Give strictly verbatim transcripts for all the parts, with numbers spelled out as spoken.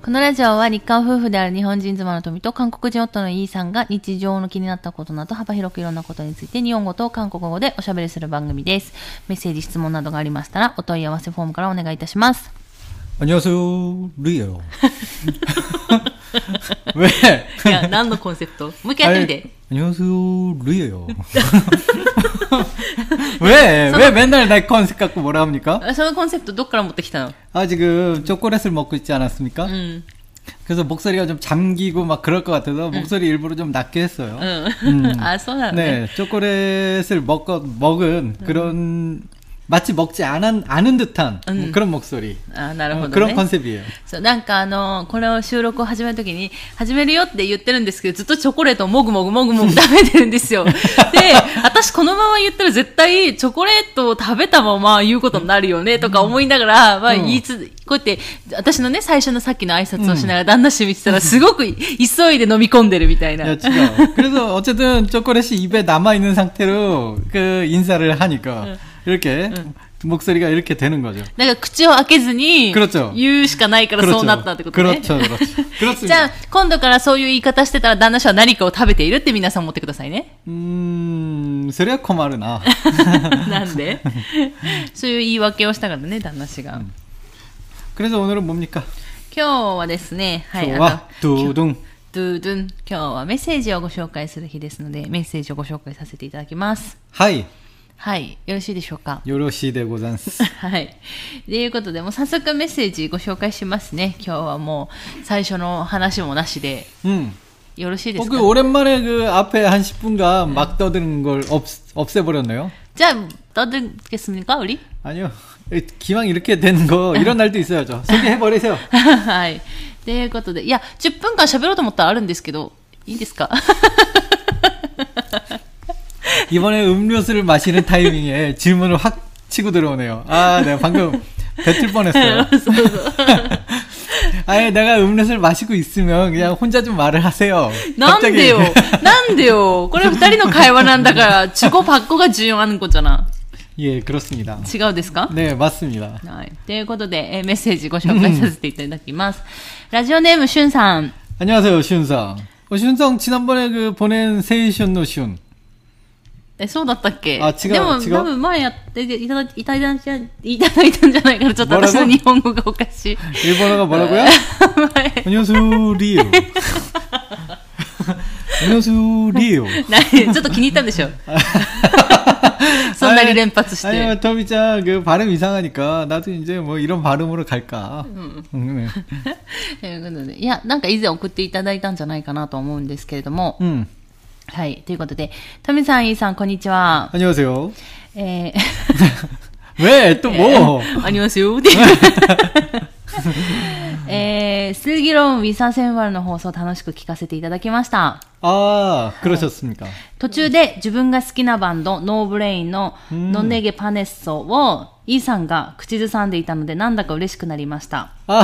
このラジオは日韓夫婦である日本人妻の富と韓国人夫のイーさんが日常の気になったことなど幅広くいろんなことについて日本語と韓国語でおしゃべりする番組です。メッセージ、質問などがありましたらお問い合わせフォームからお願いいたします。 안녕하세요 리에요. 왜? いや、何のコンセプト？もう一回やってみて。 안녕하세요 리에요. 왜? 왜 맨날 내 컨셉 갖고 뭐라 합니까? そのコンセプトどっから持ってきたの? 아 지금 초콜릿을 먹고 있지 않았습니까? 음. 그래서 목소리가 좀 잠기고 막 그럴 것 같아서 음. 목소리 일부러 좀 낮게 했어요. 음. 음. 아, 소나네. 네, 초콜릿을 먹고 먹은 음. 그런 마치 먹지 않은, 않은 듯한 음. 뭐 그런 목소리. 아, なるほどね。 그런 컨셉이에요. そう、なんかあの、これを収録を始めるときに、始めるよって言ってるんですけど、ずっとチョコレートをもぐもぐもぐもぐ食べてるんですよ。で、私このまま言ったら絶対チョコレートを食べたまま言うことになるよね、とか思いながら、まあ言いつ、こうやって、私のね、最初のさっきの挨拶をしながら旦那氏見てたら、すごく急いで飲み込んでるみたいな。 야, 지금. 그래서 어쨌든 초콜릿이 입에 남아있는 상태로 그 인사를 하니까, 응. 이렇게, 응. 목소리가 이렇게 되는 거죠. だから口を開けずに 그렇죠. 言うしかないからそうなったってことね。 그렇죠, 그렇죠. 그렇습니다. じゃあ今度からそういう言い方してたら旦那氏は何かを食べているって皆さん思ってくださいね。 음, それは困るな。 なんでそういう言い訳をしたからね、旦那氏が。 음. 그래서 오늘은 뭡니까? 今日はですね、はい、 今日はドゥドゥン。 ドゥドゥン。今日はメッセージをご紹介する日ですので、メッセージをご紹介させていただきます。 はい。 はい。よろしいでしょうか。 よろしいでございます。 はい。ということで、もう早速メッセージご紹介しますね。今日はもう最初の話もなしで。うん。よろしいですか。 그 오랜만에 그 앞에 한 십 분간 막 떠드는 걸 없, 없애버렸네요. 자, 떠들겠습니까, 우리? 아니요. 기왕 이렇게 되는 거 이런 날도 있어야죠. 소개해버리세요. はい。ということで、いや、じゅっぷんかん喋ろうと思ったらあるんですけど、いいですか？ 이번에 음료수를 마시는 타이밍에 질문을 확 치고 들어오네요. 아, 내가 방금 뱉을 뻔했어요. 아예 내가 음료수를 마시고 있으면 그냥 혼자 좀 말을 하세요. なんでよなんでよこれ二人の会話なんだから주고받고가重要하는 거잖아. 예, 그렇습니다. 違うですか? 네, 맞습니다. はい。ということで、えー、メッセージご紹介させていただきます。ラジオネームしゅんさん。 안녕하세요, 슌상. 어, 슌상 지난번에 그 보낸 세이션노 슌. え、そうだったっけ？ あ、違う。 でも、 違う。 多分前やっていただいた、いただいた、いただいたんじゃないから、ちょっと私の日本語がおかしい。 일본어가 뭐라고요? 안녕하세요, 리오. 안녕하세요, 리오. ちょっと気に入ったんでしょそんなに連発して。 아니, 토미짱, 그 발음 이상하니까, 나도 이제 뭐 이런 발음으로 갈까. うん。 음. ということで、いや、なんか以前送っていただいたんじゃないかなと思うんですけれども。 음. はい。ということで、トミさん、イーさん、こんにちは。 안녕하세요. えー、 왜? 또 뭐? ありますよ。えー、슬기로운 위사생활の放送楽しく聞かせていただきました。 아, 그러셨습니까? 途中で自分が好きなバンド、ノーブレインのノネゲパネッソをイーさんが口ずさんでいたのでなんだか嬉しくなりました。 아.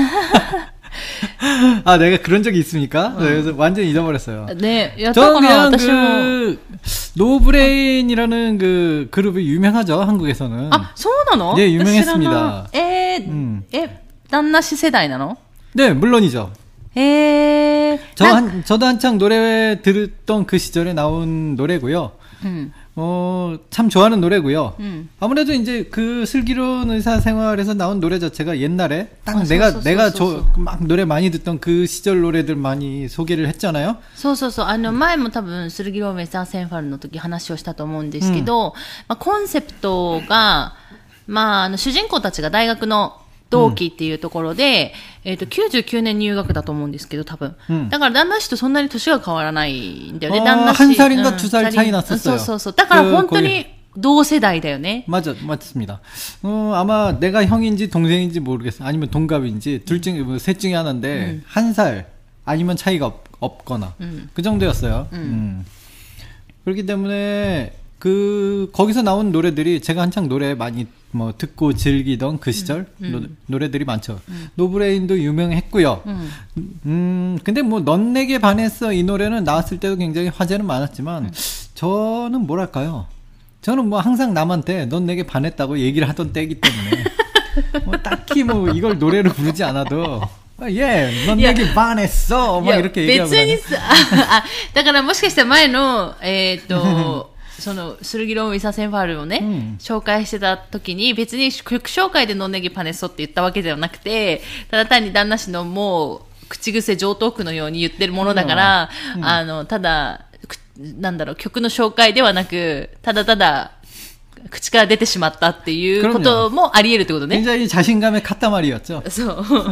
아, 내가 그런 적이 있습니까? 어. 그래서 완전 잊어버렸어요. 네, 저 그냥 그 노브레인이라는 그 그룹이 유명하죠, 한국에서는. 아, そうなの? 네, 유명했습니다. 에, 음. 에, 단나씨 세대なの? 네, 물론이죠. 에, 저 한, 저도 한창 노래 들었던 그 시절에 나온 노래고요. 음. 어, 참 좋아하는 노래고요. 음. 아무래도 이제 그 슬기로운 의사생활에서 나온 노래 자체가 옛날에 딱 아, 내가 소, 소, 내가 소, 소, 소. 저, 막 노래 많이 듣던 그 시절 노래들 많이 소개를 했잖아요. そうそうそう。あの前も多分슬기로운 의사생활の時話をしたと思うんですけど、まあコンセプトがまああの主人公たちが大学の同期っていうところで、うん、えっと、きゅうじゅうきゅうねん入学だと思うんですけど、多分。うん、だから、旦那氏とそんなに年が変わらないんだよね、旦那氏。 한 살인가 두 살 차이 났었어요. そうそうそう。だから本当に同世代だよね。 맞아, 맞습니다. 어, 아마 내가 형인지 동생인지 모르겠어. 아니면 동갑인지, 둘 중에, 뭐, 셋 중에 하나인데, 음. 한 살, 아니면 차이가 없, 없거나, 음. 그 정도였어요. 음. 음. 그렇기 때문에, 그, 거기서 나온 노래들이 제가 한창 노래 많이 뭐 듣고 즐기던 그 시절 음, 음. 노, 노래들이 많죠. 음. 노브레인도 유명했고요. 음. 음, 근데 뭐 넌 내게 반했어 이 노래는 나왔을 때도 굉장히 화제는 많았지만 음. 저는 뭐랄까요? 저는 뭐 항상 남한테 넌 내게 반했다고 얘기를 하던 때이기 때문에 뭐 딱히 뭐 이걸 노래로 부르지 않아도 예, 넌 얘기 반했어. 막 이렇게 얘기하고. 別にさ、あ、だからもしかしたら前の、えっと、その、スルギロンウィサセンファルをね、うん、紹介してた時に、別に曲紹介でノンネギパネソって言ったわけではなくて、ただ単に旦那氏のもう、口癖上等句のように言ってるものだから、うん、あの、ただ、なんだろう、曲の紹介ではなく、ただただ、口から出てしまったっていうこともあり得るってことね。 굉장히 자신감의塊였죠. そう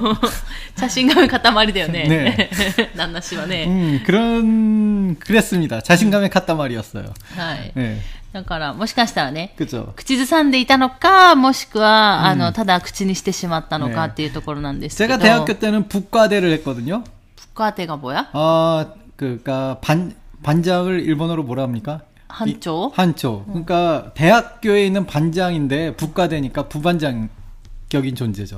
。자신감의塊だよね。ね。旦那氏はね。 음, 그런, 그랬습니다. 자신감의塊였어요. はい。ね。だから、もしかしたらね、 그죠。 口ずさんでいたのか、もしくは、あの、ただ口にしてしまったのかっていうところなんですけど。 제가 대학교 때는 북과대를 했거든요. 북과대가 뭐야? 아, 그니까, 반, 반장을 일본어로 뭐라 합니까? 한초? 한초. 그러니까 대학교에 있는 반장인데 북과대니까 부반장격인 존재죠.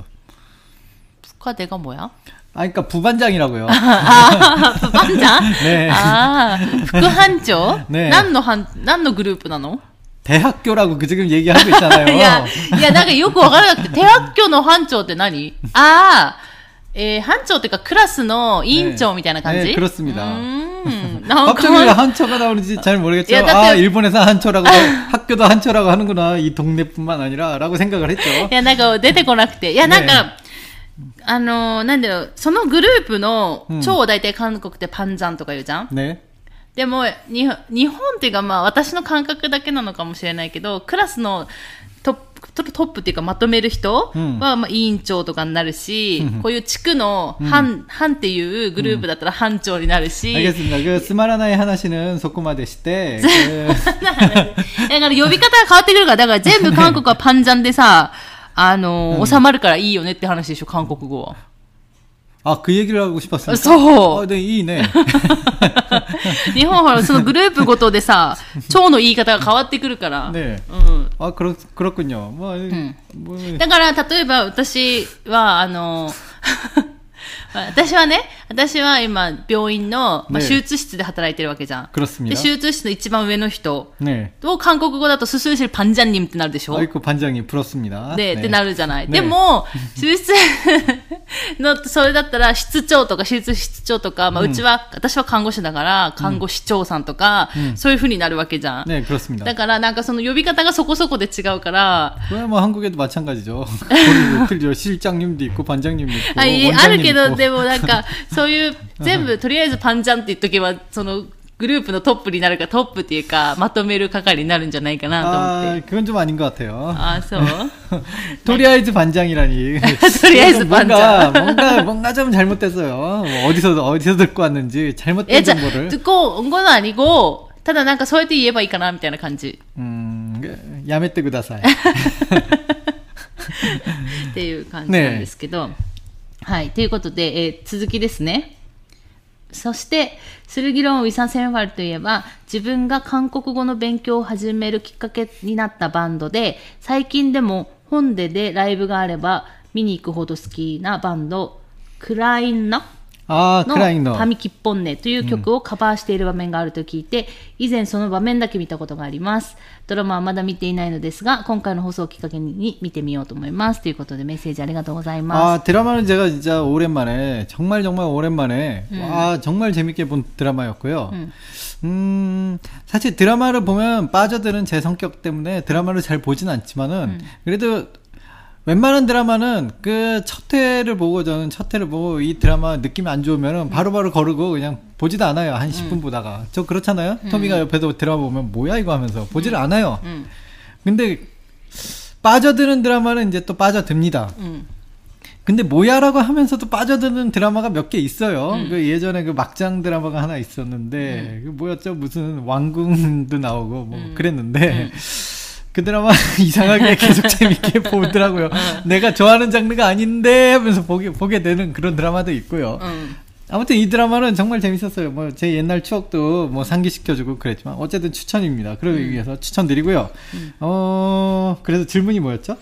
북과대가 뭐야? 아, 그러니까 부반장이라고요. 아, 부반장? 네. 아, 북한초? 네. 何の班、何のグループなの? 대학교라고 그 지금 얘기하고 있잖아요. いや、いや、なんかよくわからなくて、대학교の班長って何? 아, 에, 班長っていうかクラスの委員長みたいな感じ? 네, 그렇습니다. 음, 갑자기 왜 한초가 나오는지 잘 모르겠죠. 야, 아, 일본에서 한초라고 학교도 한초라고 하는구나. 이 동네뿐만 아니라라고 생각을 했죠. いや、なんか出てこなくて。いや、なんか、あの、なんだろう、そのグループの長を大体韓国ってパンジャンとか言うじゃん。ね。でも、日本、日本っていうかまあ私の感覚だけなのかもしれないけど、クラスのトップ、トップっていうかまとめる人は、まあ、委員長とかになるし、うん、こういう地区の班、班っていうグループだったら班長になるし。 알겠습니다. 그つまらない話는そこまでして、 だから呼び方が変わってくるから、だから全部韓国はパンジャンでさ、あの、うん、収まるからいいよねって話でしょ、韓国語は。 あ、그 얘기를 하고 싶었습니다. そう。 あ、で、いいね。 日本はそのグループごとでさ、蝶の言い方が変わってくるから。 ね。うん。あ、그렇 그렇군요. 뭐、うん、 もうだから例えば私はあの。私はね、私は今、病院の、まあ、手術室で働いてるわけじゃん。で、手術室の一番上の人を韓国語だと、수술실 반장님ってなるでしょ? 아이고, 반장님, 부럽습니다. で、ってなるじゃない。でも、手術の、それだったら、室長とか、手術室長とか、まあ、うちは、私は看護師だから、看護師長さんとか、そういう風になるわけじゃん。 ね、그렇습니다。 だから、なんかその呼び方がそこそこで違うから、 これはもう한국에도 마찬가지죠. 실장님도 있고, 반장님도 있고, あ、あるけど、でもなんか、そういう、全部、とりあえずパンジャンって言っとけば、その、グループのトップになるか、トップっていうか、まとめる係になるんじゃないかなと思って。 あ、그건 좀 아닌 것 같아요. 아, そうとりあえず반장이라니. とりあえず반장. 뭔가, 뭔가, 뭔가 좀 잘못됐어요. 어디서, 어디서 듣고 왔는지 잘못된 정보를. 듣고 온 건 아니고, ただなんかそうやって言えばいいかな、みたいな感じ。 음, やめてください。 っていう感じなんですけど。ね、はい。ということで、えー、続きですね。そして、スルギロン・ウィサセンファルといえば、自分が韓国語の勉強を始めるきっかけになったバンドで、最近でも本ででライブがあれば見に行くほど好きなバンド、クラインのああ、クラインのファミキッポンネという曲をカバーしている場面があると聞いて、うん、以前その場面だけ見たことがあります。ドラマはまだ見ていないのですが、今回の放送をきっかけに見てみようと思います。ということでメッセージありがとうございます。 あ、드라마는 제가 진짜 오랜만에, 정말 정말 오랜만에, 음. 와, 정말 재밌게 본 드라마였고요. 음. 음, 사실 드라마를 보면 빠져드는 제 성격 때문에 드라마를 잘 보진 않지만은, 음. 그래도 웬만한 드라마는 그 첫 회를 보고 저는 첫 회를 보고 이 드라마 느낌이 안 좋으면은 바로바로 거르고 그냥 보지도 않아요. 한 십 분 음. 보다가. 저 그렇잖아요? 음. 토미가 옆에서 드라마 보면 뭐야 이거 하면서 보지를 음. 않아요. 음. 근데 빠져드는 드라마는 이제 또 빠져듭니다. 음. 근데 뭐야라고 하면서도 빠져드는 드라마가 몇 개 있어요. 음. 그 예전에 그 막장 드라마가 하나 있었는데 음. 그 뭐였죠? 무슨 왕궁도 나오고 뭐 음. 그랬는데 그 드라마 이상하게 계속 재밌게 보더라고요. 내가 좋아하는 장르가 아닌데 하면서 보게, 보게 되는 그런 드라마도 있고요. 음. 아무튼 이 드라마는 정말 재밌었어요. 뭐 제 옛날 추억도 뭐 상기시켜주고 그랬지만 어쨌든 추천입니다. 그러기 음. 위해서 추천드리고요. 음. 어, 그래서 질문이 뭐였죠?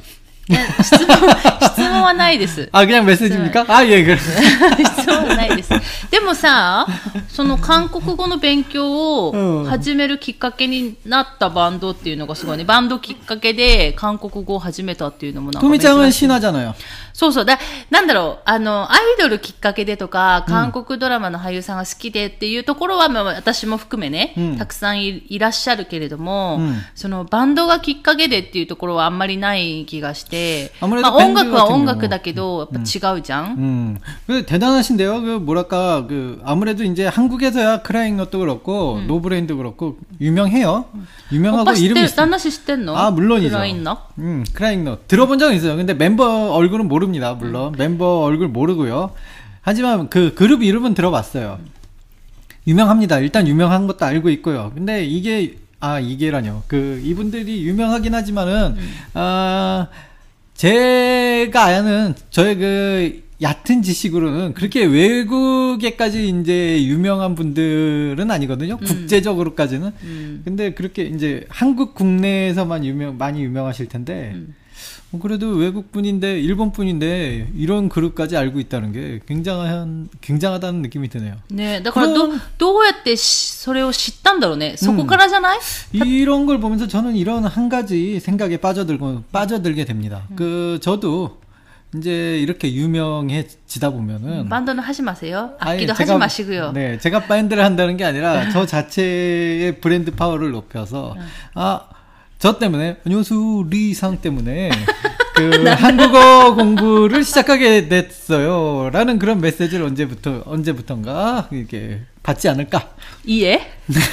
いや、質問、質問はないです。 あ、그냥 메시지입니까?あ、예、그래。 質問はないです。でもさ、その韓国語の勉強を始めるきっかけになったバンドっていうのがすごいね。バンドきっかけで韓国語を始めたっていうのもなんか珍しい。 トミちゃんはシナじゃないよ。 そうそう。だ、なんだろう、あの、アイドルきっかけでとか、韓国ドラマの俳優さんが好きでっていうところは、まあ、私も含めね、うん、たくさん い, いらっしゃるけれども、うん、そのバンドがきっかけでっていうところはあんまりない気がして、まあ、音楽は音楽だけど、やっぱ違うじゃん。 음. 음. 대단하신데요. 그 뭐랄까 그 아무래도 이제 한국에서야 크라잉 넛도 그렇고 음. 노브레인도 그렇고 유명해요. 유명하고 이름이 있어. 딴나씨 시댔노? 아 물론이죠. 크라잉 넛? 음, 크라잉 넛 들어본 적은 있어요. 근데 멤버 얼굴은 모릅니다. 물론 음. 멤버 얼굴 모르고요. 하지만 그 그룹 이름은 들어봤어요. 유명합니다. 일단 유명한 것도 알고 있고요. 근데 이게 아 이게라뇨. 그 이분들이 유명하긴 하지만은 음. 아 제가 아는 저의 그 얕은 지식으로는 그렇게 외국에까지 이제 유명한 분들은 아니거든요. 음. 국제적으로까지는. 음. 근데 그렇게 이제 한국 국내에서만 유명 많이 유명하실 텐데. 음. 그래도 외국 분인데 일본 분인데 이런 그룹까지 알고 있다는 게 굉장한 굉장하다는 느낌이 드네요. 네, 그러니까 도, どうやってそれを知ったんだろうね. そこからじゃない? 이런 걸 보면서 저는 이런 한 가지 생각에 빠져들고 빠져들게 됩니다. 음. 그 저도 이제 이렇게 유명해지다 보면은 밴드는 하지 마세요. 악기도 아니, 하지 제가, 마시고요. 네, 제가 밴드를 한다는 게 아니라 저 자체의 브랜드 파워를 높여서 음. 아 저 때문에 안녕하세요 리상 때문에 그 한국어 공부를 시작하게 됐어요 라는 그런 메시지를 언제부터 언제부턴가 이렇게 받지 않을까? 이해?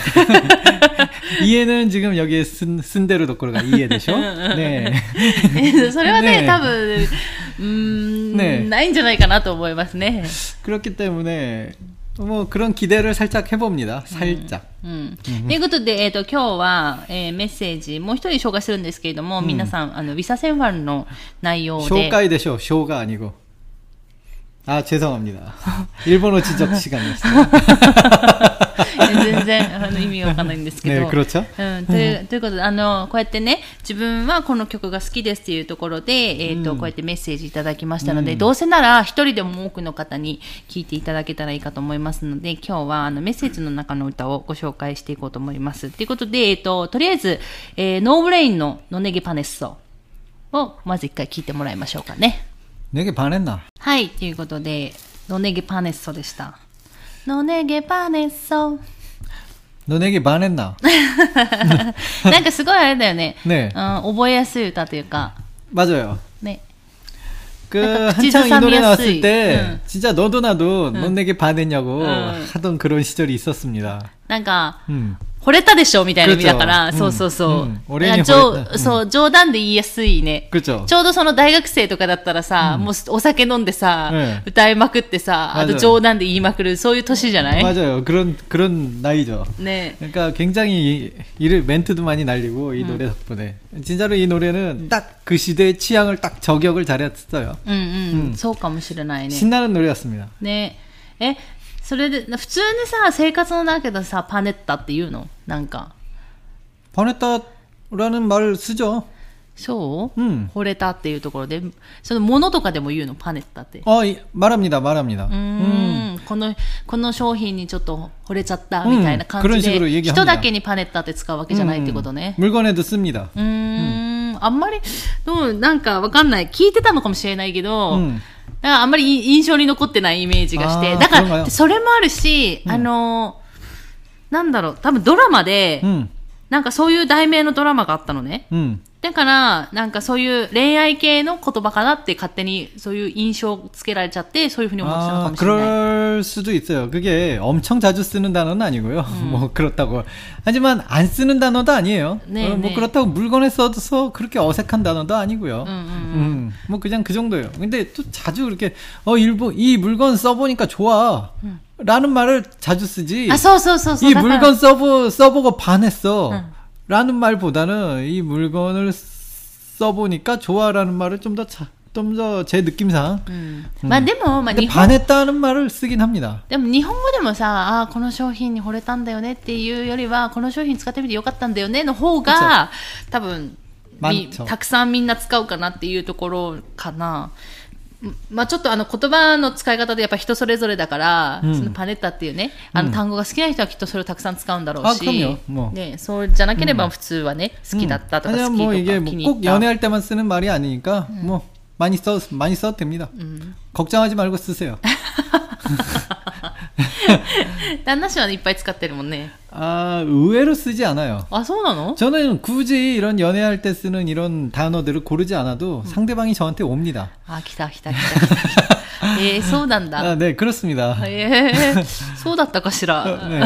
이해는 지금 여기에 쓴, 쓴 대로 도코로가 이해되죠? 네. それはね、多分、うーん、ね、ないんじゃないかなと思いますね. 그렇기 때문에 뭐 그런 기대를 살짝 해봅니다. 살짝. うんうん、ということで、えっと、今日は、えー、メッセージ、もう一人紹介するんですけれども、うん、皆さん、あの、ビサセンファンの内容で。紹介でしょ、쇼가 아니고。あ、죄송합니다。일본어 지적 시간이었어요。 全然あの意味わかんないんですけど、 ね、그렇죠? うん、という、ということで、あの、こうやってね、自分はこの曲が好きですっていうところで、えっと、うん、こうやってメッセージいただきましたので、うん、どうせなら一人でも多くの方に聞いていただけたらいいかと思いますので、今日はあのメッセージの中の歌をご紹介していこうと思います。ということで、えっと、とりあえず、えー、ノーブレインのノネゲパネッソをまず一回聞いてもらいましょうかね。 ネゲパネッナ。 はい、ということで、ノネゲパネッソでした。ノネゲパネッソ。 너네게 반했나? なんかすごいあれだよね。 네. 어, 覚えやすい歌というか. 맞아요. 네. 그 한창 이 노래 나왔을 때 응. 진짜 너도 나도 응. 너네게 반했냐고 응. 하던 그런 시절이 있었습니다. なんか 응. 惚れたでしょみたいな意味だから、そうそうそう。俺に惚れた。そう、冗談で言いやすいね。ちょうどその大学生とかだったらさ、もうお酒飲んでさ、歌いまくってさ、あと冗談で言いまくる、そういう年じゃない? 맞아요. 그런, 그런 나이죠. 네. 그러니까 굉장히 이, 멘트도 많이 날리고, 이 노래 덕분에. 진짜로 이 노래는 딱 그 시대의 취향을 딱 저격을 잘했어요. 응, 응. そうかもしれないね. 신나는 노래였습니다. 네. 에? それで普通にさ生活の中でさパネッタって言うのなんかパネッタ라는 말 쓰죠. そう、うん、惚れたっていうところでそのものとかでも言うのパネッタって。 あ、말합니다 말합니다。 うーん、このこの商品にちょっと惚れちゃったみたいな感じで、うん、人だけにパネッタって使うわけじゃないってことね。 물건에도 씁니다。 うーん、あんまりでもなんかわかんない聞いてたのかもしれないけど。うん、だからあんまり印象に残ってないイメージがして。だから、それもあるし、うん、あの、なんだろう、多分ドラマで、うん、なんかそういう題名のドラマがあったのね。うん、だから、なんかそういう恋愛系の言葉かなって勝手にそういう印象をつけられちゃって、そういうふうに思ってたのかもしれない。 그럴 수도 있어요. 그게 엄청 자주 쓰는 단어는 아니고요. 음. 뭐 그렇다고. 하지만 안 쓰는 단어도 아니에요. 네, 어, 뭐 네. 그렇다고 물건에 써서 그렇게 어색한 단어도 아니고요. 음, 음, 음. 음, 뭐 그냥 그 정도예요. 근데 또 자주 그렇게 어 일본 이 물건 써보니까 좋아. 음. 라는 말을 자주 쓰지. 아, 써, 써, 써, 써. 이 물건 써보, 써보고 반했어. 음. 라는 말보다는 이 물건을 써보니까 좋아라는 말을 좀 더 좀 더 제 느낌상. 음. 음. まあでも、まあ、 반했다는 말을 쓰긴 합니다. でも日本語でもさ、あ、この商品に惚れたんだよねっていうよりは、この商品使ってみてよかったんだよねの方が多分たくさんみんな使うかなっていうところかな。まあちょっとあの言葉の使い方でやっぱ人それぞれだから、うん、そのパネッタっていうね、あの単語が好きな人はきっとそれをたくさん使うんだろうし、ね、そうじゃなければ普通はね、うん、好きだったとか好きとか気に入った。 꼭연애할때만쓰는말이아니니까뭐많이써도됩니다 음. 걱정하지 말고 쓰세요. 旦那氏は、ね、いっぱい使ってるもんね。 아, 의외로 쓰지 않아요. 아, そうなの? 저는 굳이 이런 연애할 때 쓰는 이런 단어들을 고르지 않아도 음. 상대방이 저한테 옵니다. 아, 기다, 기다, 기다. 예, そうなんだ. 아, 네, 그렇습니다. 예, そうだったかしら. 네.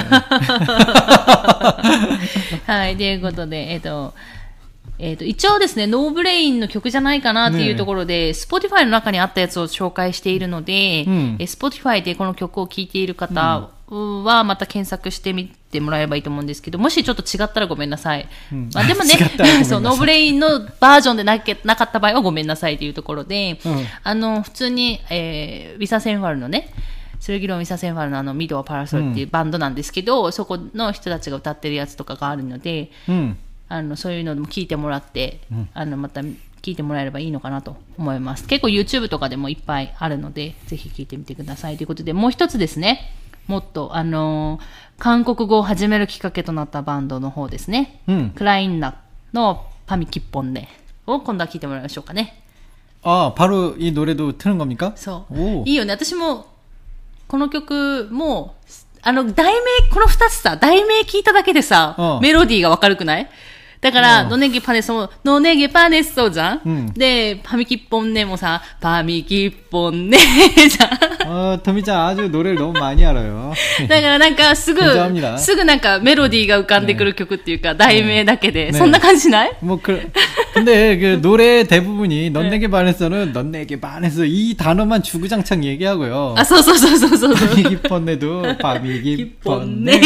はい、ということで、えっと、えっと、一応ですね、ノーブレインの曲じゃないかなっていうところで、ね、Spotify の中にあったやつを紹介しているので、うん、Spotify でこの曲を聴いている方はまた検索してみてもらえればいいと思うんですけど、もしちょっと違ったらごめんなさい。うん、まあ、でもね、そう、ノーブレインのバージョンでなけなかった場合はごめんなさいというところで、うん、あの、普通に、えー、ウィサセンファルのね、スルギロン・ウィサセンファルのあの、ミド・パラソルっていうバンドなんですけど、うん、そこの人たちが歌ってるやつとかがあるので、うん、あのそういうのも聞いてもらって、うん、あのまた聞いてもらえればいいのかなと思います。結構 YouTube とかでもいっぱいあるのでぜひ聞いてみてくださいということで、もう一つですね、もっとあのー、韓国語を始めるきっかけとなったバンドの方ですね、うん、クラインナのパミキッポンネを今度は聞いてもらいましょうかね。 あ、바로 이 노래도 트는 겁니까? そう、いいよね。私もこの曲もあの題名、この二つさ、題名聞いただけでさ、メロディーがわかるくない？だから、ノネゲパネソ、ノネゲパネソじゃん、うん、で、パミキッポンネもさ、パミキッポンネじゃん。 어、トミちゃん、아주 노래를 너무 많이 알아요。 だからなんか、すぐ、すぐなんかメロディーが浮かんでくる曲っていうか、題名だけで、そんな感じしない？ 뭐 그、 근데 그 노래 대부분이 넌내게 반했어는 넌내게 반했어 이 단어만 주구장창 얘기하고요. 아, そうそうそうそうそう。 파미기펀네도 파미기펀네.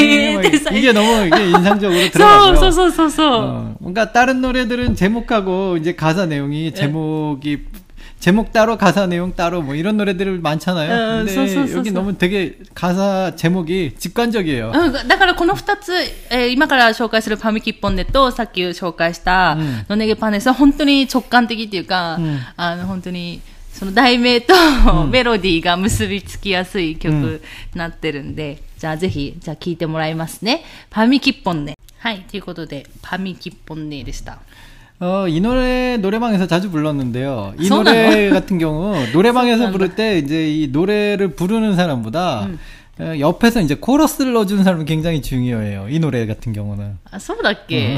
이게 너무 이게 인상적으로 들어가죠. そうそうそうそう。 어, 뭔가 다른 노래들은 제목하고 이제 가사 내용이 제목이 제목 따로 가사 내용 따로 뭐 이런 노래들 많잖아요. 근데 어, 여기 너무 되게 가사 제목이 직관적이에요. だからこのふたつ、えー、今から紹介するパミキッポンネとさっき紹介したノネゲパネスは本当に直感的っていうか、うん、あの本当にその題名と、うん、メロディーが結びつきやすい曲になってるんで、うん、じゃあぜひじゃあ聴いてもらいますね。パミキッポンネ。はい、ということでパミキッポンネでした。 어, 이 노래 노래방에서 자주 불렀는데요. 이 노래 같은 경우 노래방에서 부를 때 이제 이 노래를 부르는 사람보다 음. 어, 옆에서 이제 코러스를 넣어주는 사람이 굉장히 중요해요. 이 노래 같은 경우는. 아, そうだっけ?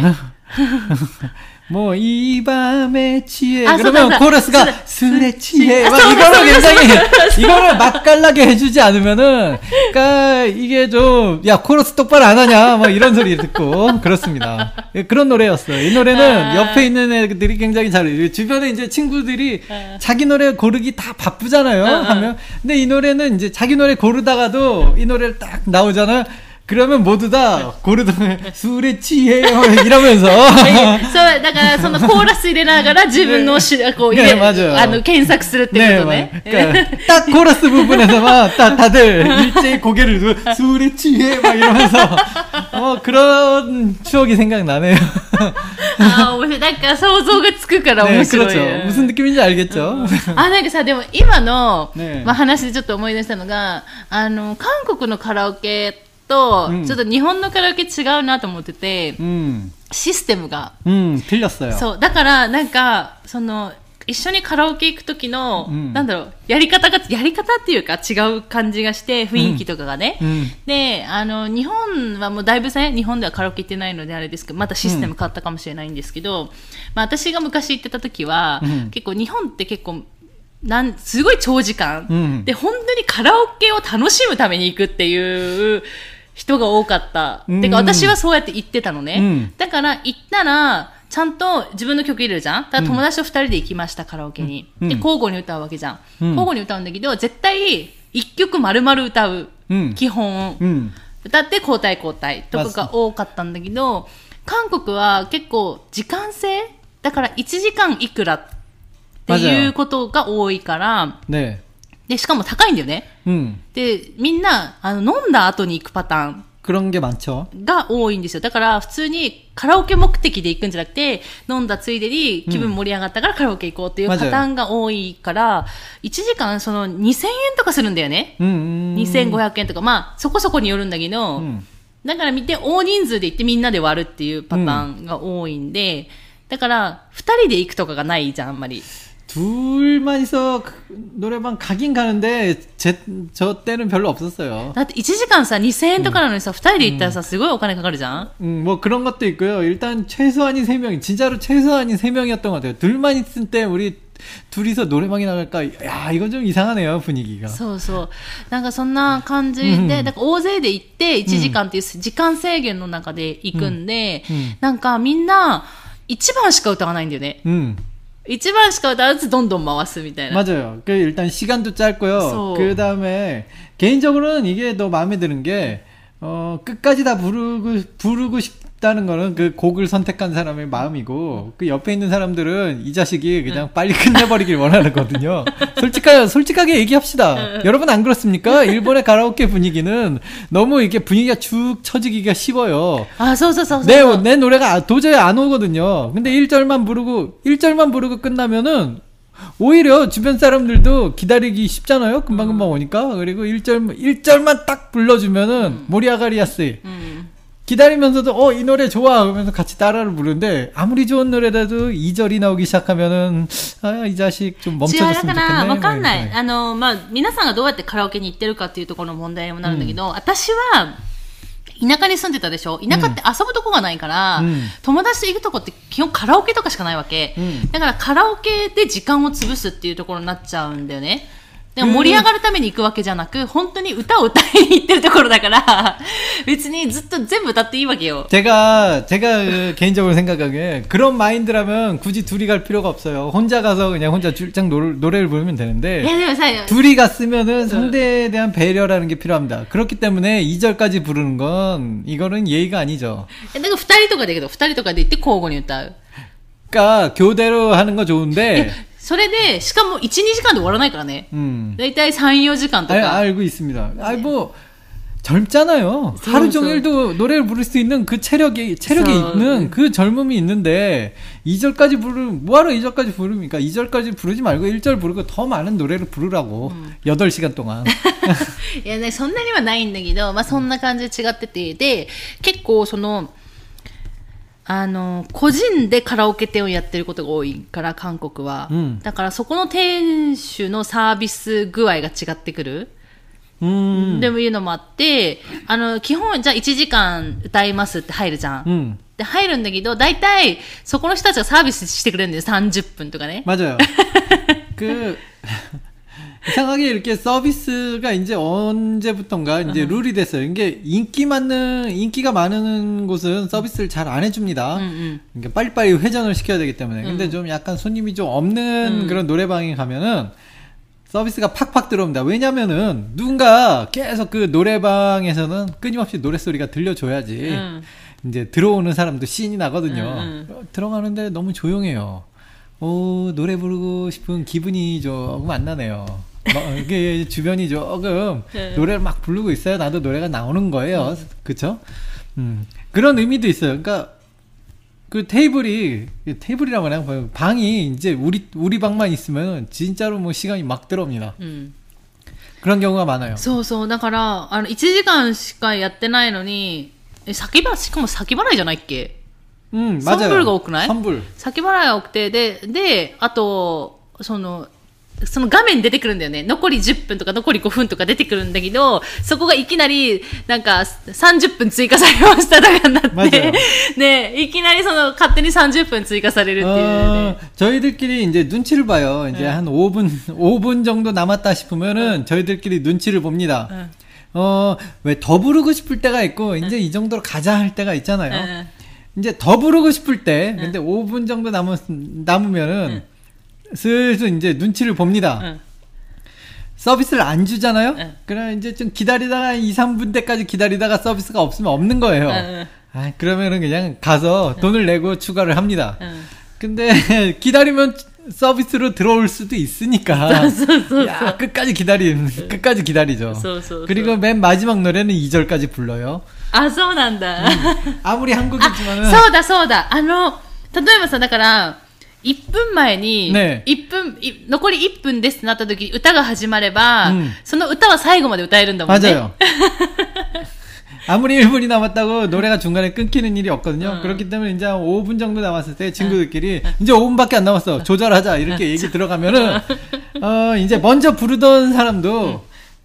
뭐 이 밤에 취해 아, 그러면 소다, 코러스가 소다, 술에 취해 막 아, 이거를 굉장히 이거를 맛깔나게 해주지 않으면은 그러니까 이게 좀 야 코러스 똑바로 안 하냐 막 이런 소리 듣고 그렇습니다. 그런 노래였어요. 이 노래는 아. 옆에 있는 애들이 굉장히 잘해요. 주변에 이제 친구들이 아. 자기 노래 고르기 다 바쁘잖아요. 아. 하면 근데 이 노래는 이제 자기 노래 고르다가도 이 노래를 딱 나오잖아요. 그러면 모두 다 고르던 술에 취해요 이러면서. そうだからそのコーラス入れながら自分のしこう入れあの検索するってことね。 그러니까 딱 코러스 부분에서만 딱 다들 일제히 고개를 들고 술에 취해 막 이러면서 어 그런 추억이 생각나네요. 아, なんか想像がつくから面白い。 네, 그렇죠. 무슨 느낌인지 알겠죠. あ、なんかさでも今のまあ話でちょっと思い出したのが、あの韓国のカラオケと、うん、ちょっと日本のカラオケ違うなと思ってて、うん、システムが、 うん、틀렸어요。 そうだからなんかその一緒にカラオケ行く時の、うん、なんだろうやり方がやり方っていうか違う感じがして雰囲気とかがね、うん、であの日本はもうだいぶね日本ではカラオケ行ってないのであれですけどまたシステム変わったかもしれないんですけど、うんまあ、私が昔行ってた時は、うん、結構日本って結構なんすごい長時間、うん、で本当にカラオケを楽しむために行くっていう人が多かった。うん、てか私はそうやって言ってたのね。うん、だから行ったら、ちゃんと自分の曲入れるじゃん。だから友達と二人で行きました、カラオケに。うん、で、交互に歌うわけじゃん。うん、交互に歌うんだけど、絶対一曲丸々歌う。うん、基本、うん。歌って交代交代とかが多かったんだけど、韓国は結構時間制だからいちじかんいくらっていうことが多いから、ねで、しかも高いんだよね。うん、で、みんな、あの、飲んだ後に行くパターン 그런 게 많죠. が多いんですよ。だから普通にカラオケ目的で行くんじゃなくて、飲んだついでに気分盛り上がったからカラオケ行こうっていうパターンが多いから、いちじかんそのにせんえんとかするんだよね。 うんうん、 にせんごひゃくえんとか、まあそこそこによるんだけど、うん、だから見て大人数で行ってみんなで割るっていうパターンが多いんで、うん、だからふたりで行くとかがないじゃん、あんまり。 둘만 있어 노래방 가긴 가는데 제, 저 때는 별로 없었어요. だっていちじかんさにせんえんとかなのにさ、うん、ふたりで行ったらさすごいお金かかるじゃん。 음, 뭐 그런 것도 있고요. 일단 최소한이 세 명, 진짜로 최소한이 세 명이었던 것 같아요. 둘만 있을 때 우리 둘이서 노래방에 나갈까? 야, 이건 좀 이상하네요, 분위기가. そうそう。なんかそんな感じで、うん、だから大勢で行っていちじかんっていう時間制限の中で行くんで、うんうん、なんかみんないちばんしか歌わないんだよね。うん。いちばんしか歌わずどんどん回すみたいな. 맞아요. 그 일단 시간도 짧고요. 그 다음에 개인적으로는 이게 더 마음에 드는 게 어, 끝까지 다 부르고 부르고 싶다는 거는 그 곡을 선택한 사람의 마음이고 그 옆에 있는 사람들은 이 자식이 그냥 빨리 끝내버리길 원하거든요. 솔직하게 솔직하게 얘기합시다. 여러분 안 그렇습니까? 일본의 가라오케 분위기는 너무 이게 분위기가 쭉 처지기가 쉬워요. 아, 소소소. 내, 내 노래가 도저히 안 오거든요. 근데 일 절만 부르고 일 절만 부르고 끝나면은 오히려 주변 사람들도 기다리기 쉽잖아요. 금방금방 오니까. 그리고 일 절, 일 절만 딱 불러주면은, 음. 모리아가리아스. 음. 기다리면서도, 어, 이 노래 좋아. 그러면서 같이 따라를 부르는데, 아무리 좋은 노래라도 이 절이 나오기 시작하면은, 아, 이 자식 좀 멈춰줬으면 좋겠네. 違う、だから、わかんない。あの、まあ、皆さんがどうやってカラオケに行ってるかっていうところの問題にもなるんだけど、私は、田舎に住んでたでしょ。田舎って遊ぶとこがないから、うん、友達と行くとこって基本カラオケとかしかないわけ、うん、だからカラオケで時間を潰すっていうところになっちゃうんだよね。でも盛り上がるために行くわけじゃなく、本当に歌を歌いに行ってるところだから、別にずっと全部歌っていいわけよ。 제가, 제가 개인적으로 생각하기에 그런 마인드라면 굳이 둘이 갈 필요가 없어요. 혼자 가서 그냥 혼자 줄장 노래, 노래를 부르면 되는데, 둘이 갔으면은 상대에 대한 배려라는 게 필요합니다. 그렇기 때문에 이 절까지 부르는 건, 이거는 예의가 아니죠. だから二人とかだけど、二人とかで行って交互に歌う。 그러니까 교대로 하는 거 좋은데, それで、しかもいち、にじかんで終わらないからね。うん。だいたいさん、よじかんとか。 알, 알고 있습니다. 아, 뭐, 젊잖아요. 하루 종일도 노래를 부를 수 있는 그 체력이, 체력이 있는 그 젊음이 있는데, 이 절까지 부르, 뭐하러 이 절까지 부릅니까? 이 절까지 부르지 말고 일 절 부르고 더 많은 노래를 부르라고. 음. 여덟 시간 동안. いやね、そんなにはないんだけど、まあそんな感じで違ってて、で、結構その、あの、個人でカラオケ店をやってることが多いから、韓国は。うん、だからそこの店主のサービス具合が違ってくる。うん。でもいうのもあって、あの、基本、じゃあいちじかん歌いますって入るじゃん。うん。で、入るんだけど、だいたいそこの人たちがサービスしてくれるんだよ。さんじゅっぷんとかね。 맞아요。그 이상하게 이렇게 서비스가 이제 언제부턴가 이제 룰이 됐어요. 이게 인기 많는, 인기가 많은 곳은 서비스를 잘 안 해줍니다. 음, 음. 그러니까 빨리빨리 회전을 시켜야 되기 때문에. 근데 음. 좀 약간 손님이 좀 없는 음. 그런 노래방에 가면은 서비스가 팍팍 들어옵니다. 왜냐면은 누군가 계속 그 노래방에서는 끊임없이 노래소리가 들려줘야지. 음. 이제 들어오는 사람도 신이 나거든요. 음, 음. 들어가는데 너무 조용해요. 오, 노래 부르고 싶은 기분이 조금 안 나네요. 이게 주변이 조금 네. 노래를 막 부르고 있어요. 나도 노래가 나오는 거예요. 음. 그쵸? 음, 그런 의미도 있어요. 그러니까 그 테이블이 테이블이라고 하나 방이 이제 우리 우리 방만 있으면 진짜로 뭐 시간이 막 들어옵니다. 음. 그런 경우가 많아요. そうそう。だからあのいちじかんしかやってないのに先払いしかも先払いじゃないっけ? 음, 맞아요. 선불가 多くない? 선불. 先払いが多くてでであとそのその画面に出てくるんだよね。残りじゅっぷんとか残りごふんとか出てくるんだけど、そこがいきなりなんかさんじゅっぷん追加されましたとかになって、ね、いきなりその勝手にさんじゅっぷん追加されるっていうね。 어, 저희들끼리 이제 눈치를 봐요. 이제 네. 한 오 분 오 분 정도 남았다 싶으면은 네. 저희들끼리 눈치를 봅니다. 네. 어, 왜 더 부르고 싶을 때가 있고 이제 네. 이 정도로 가자 할 때가 있잖아요. 네. 이제 더 부르고 싶을 때, 근데 네. 오 분 정도 남으, 남으면은 네. 슬슬 이제 눈치를 봅니다. 응. 서비스를 안 주잖아요? 응. 그럼 이제 좀 기다리다가 이, 삼 분 때까지 기다리다가 서비스가 없으면 없는 거예요. 응. 아, 그러면은 그냥 가서 돈을 내고 추가를 합니다. 응. 근데 기다리면 서비스로 들어올 수도 있으니까. 야, 끝까지 기다림, 끝까지 기다리죠. 그리고 맨 마지막 노래는 이 절까지 불러요. あ、そうなんだ。 아무리 한국이지만은 そうだそうだ。あの、例えばさ、だから、いっぷんまえに、 ね、 いっぷん、い残りいっぷんですってなった時に歌が始まれば、 うん、 その歌は最後まで歌えるんだもんね。 맞아요. 아무리 일 분이 남았다고 노래가 중간에 끊기는 일이 없거든요. 응. 그렇기 때문에 이제 오 분 정도 남았을 때 친구들끼리 응. 이제 오 분밖에 안 남았어. 조절하자. 이렇게 얘기 들어가면은, 어, 이제 먼저 부르던 사람도 응.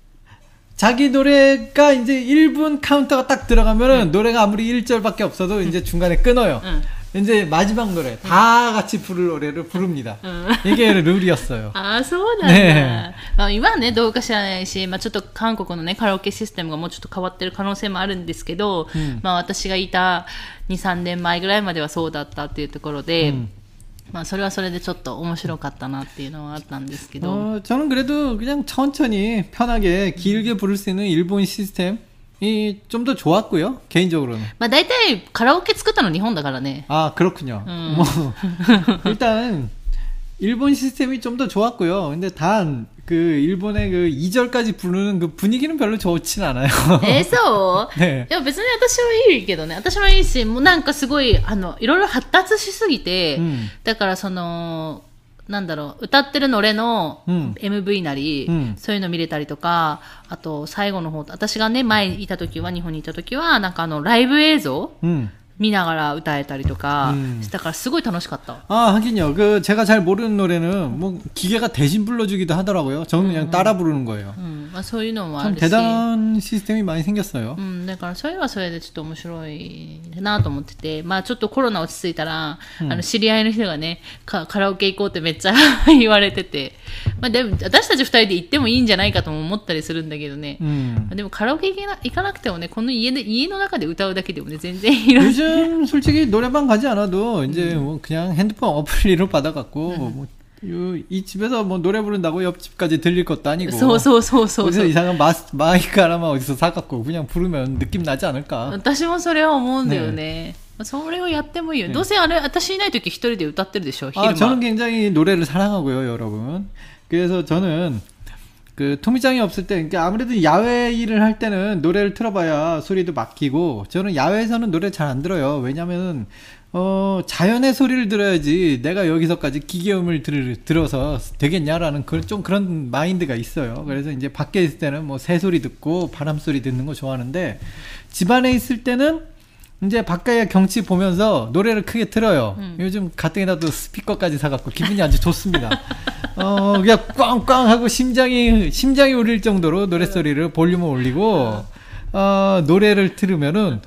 자기 노래가 이제 일 분 카운터가 딱 들어가면은 응. 노래가 아무리 일 절밖에 없어도 이제 중간에 끊어요. 응. 이제 마지막 노래 다 같이 부를 노래를 부릅니다. 이게 룰이었어요. 아, そうなんだ。ね、まあ、今はねどうか知らないし、まあ、ちょっと韓国のねカラオケシステムがもうちょっと変わってる可能性もあるんですけど、うん、まあ私がいたにさんねんまえぐらいまではそうだったっていうところで、うん、まあそれはそれでちょっと面白かったなっていうのはあったんですけど。 어、 저는 그래도 그냥 천천히 편하게 길게 부를 수 있는 일본 시스템 이 좀 더 좋았고요. 개인적으로는. まあ大体カラオケ作ったの日本だからね. 아, 그렇군요. 음. 뭐 일단 일본 시스템이 좀 더 좋았고요. 근데 단 그 일본의 그 이 절까지 부르는 그 분위기는 별로 좋진 않아요. え、そう？ 네. いや別に私はいいけどね。私はいいし、もうなんかすごいあのいろいろ発達しすぎて、うん、だからそのなんだろう、歌ってるの俺の エムブイ なり、うん、そういうの見れたりとか、あと最後の方、私がね、前いた時は、日本にいた時は、なんかあの、ライブ映像、うん、見ながら歌えたりとかしたからすごい楽しかった。 あ、하긴요. 그 제가 잘 모르는 노래는 뭐 기계가 대신 불러주기도 하더라고요. 저는 그냥 따라 부르는 거예요. 음, 음. そういうのもあるし。 참 대단한 시스템이 많이 생겼어요. うん、だからそれはそれでちょっと面白いなと思ってて、まあちょっとコロナ落ち着いたら、うん、あの知り合いの人がね、カラオケ行こうってめっちゃ言われてて、まあでも私たち二人で行ってもいいんじゃないかとも思ったりするんだけどね。うん、でもカラオケ行けな行かなくてもね、この家で家の中で歌うだけでもね全然いろいろ。 요즘 솔직히 노래방 가지 않아도 이제 음. 뭐 그냥 핸드폰 어플리로 받아갖고 음. 뭐 이 집에서 뭐 노래 부른다고 옆집까지 들릴 것도 아니고. 소소소소. 어디서 이상한 마, 마이크 하나만 어디서 사갖고 그냥 부르면 느낌 나지 않을까. 私もそれは思うんだよね。それをやってもいいよ。どうせあれ私いない時一人で歌ってるでしょ。 아, 저는 굉장히 노래를 사랑하고요, 여러분. 그래서 저는 그 토미짱이 없을 때, 그러니까 아무래도 야외 일을 할 때는 노래를 틀어봐야 소리도 막히고, 저는 야외에서는 노래 잘 안 들어요. 왜냐면은 어 자연의 소리를 들어야지 내가 여기서까지 기계음을 들, 들어서 되겠냐라는 그, 좀 그런 마인드가 있어요. 그래서 이제 밖에 있을 때는 뭐 새 소리 듣고 바람 소리 듣는 거 좋아하는데, 집안에 있을 때는 이제 바깥의 경치 보면서 노래를 크게 틀어요. 음. 요즘 가뜩이나도 스피커까지 사갖고 기분이 아주 좋습니다. 어, 그냥 꽝꽝 하고 심장이, 심장이 울릴 정도로 노래소리를 볼륨을 올리고, 어, 노래를 들으면은,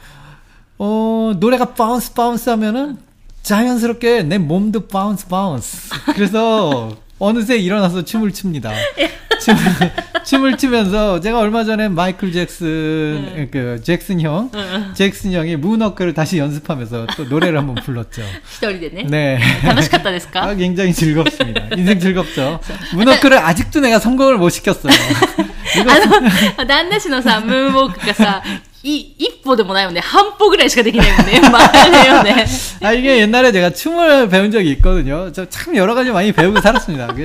어, 노래가 바운스 바운스 하면은 자연스럽게 내 몸도 바운스 바운스. 그래서 어느새 일어나서 춤을 춥니다. 춤을, 춤을 추면서 제가 얼마 전에 마이클 잭슨, 응. 그 잭슨 형, 응. 잭슨 형이 문워크를 다시 연습하면서 또 노래를 한번 불렀죠. 히토리데네. 네. 楽しかったですか? 아, 굉장히 즐겁습니다. 인생 즐겁죠. 문워크를 아직도 내가 성공을 못 시켰어요. あの、旦那氏のさ、ムーンウォークがさ、い、一歩でもないよね。半歩ぐらいしかできないもんね。まあねよね。 아, 이게 옛날에 제가 춤을 배운 적이 있거든요. 저 참 여러 가지 많이 배우고 살았습니다. 그,